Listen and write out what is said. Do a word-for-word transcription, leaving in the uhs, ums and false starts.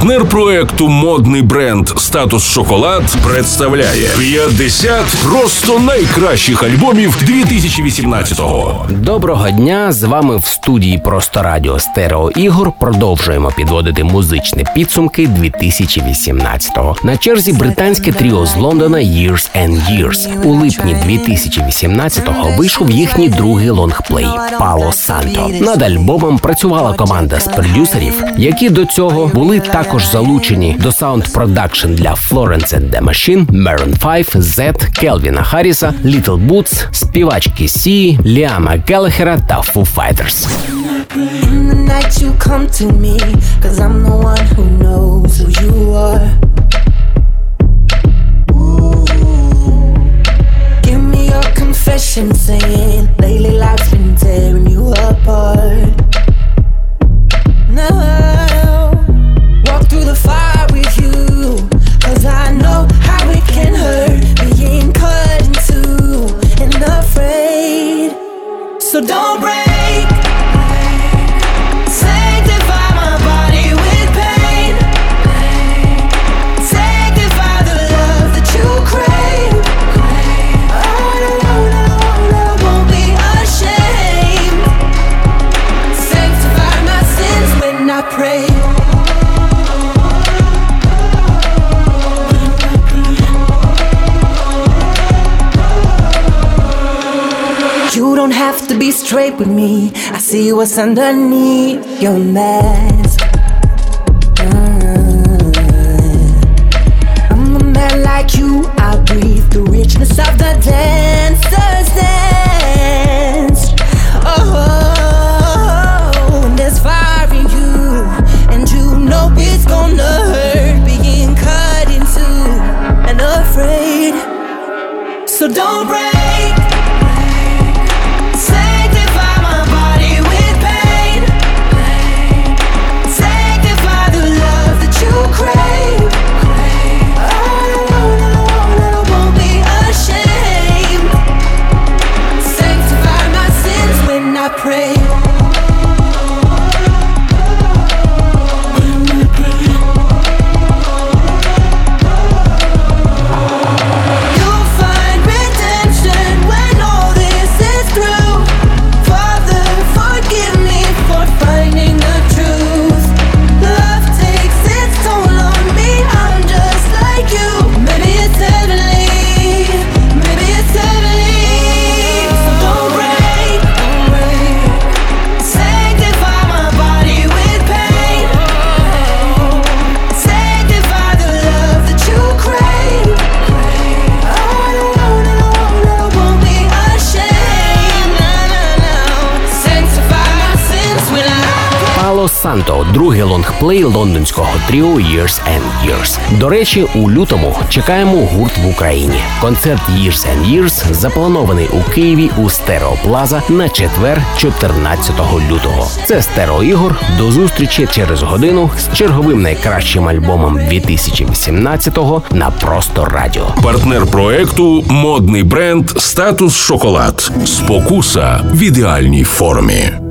Партнер проекту модний бренд «Статус Шоколад» представляє п'ятдесят просто найкращих альбомів дві тисячі вісімнадцятого. Доброго дня, з вами в студії Просто Радіо Стерео Ігор. Продовжуємо підводити музичні підсумки дві тисячі вісімнадцятого. На черзі британське тріо з Лондона Years and Years. У липні дві тисячі вісімнадцятого вийшов їхній другий лонгплей «Пало Санто». Над альбомом працювала команда з продюсерів, які до цього були також залучені до саунд-продакшн для Florence and the Machine, Maroon файв, Z, Кельвіна Харріса, Little Boots, співачки Сі, Ліама Геллахера та Foo Fighters. Saying lately life's been tearing you apart. Now walk through the fire with you, 'cause I know how it can hurt being cut in two and afraid. So don't break, sanctify my body with pain, sanctify the love that you crave. I pray. You don't have to be straight with me. I see what's underneath your mask. uh, I'm a man like you. I breathe the richness of the dancer's dance. Oh, and there's fire in you. No, it's gonna hurt being cut in two and afraid. So don't break, sanctify my body with pain, sanctify the love that you crave. I won't be ashamed, sanctify my sins when I pray. Санто – другий лонгплей лондонського тріо Years and Years. До речі, у лютому чекаємо гурт в Україні. Концерт Years and Years запланований у Києві у Стерео Плаза на четвер, чотирнадцятого лютого. Це Стерео Ігор. До зустрічі через годину з черговим найкращим альбомом дві тисячі вісімнадцятого на Просто Радіо. Партнер проекту модний бренд «Статус Шоколад». Спокуса в ідеальній формі.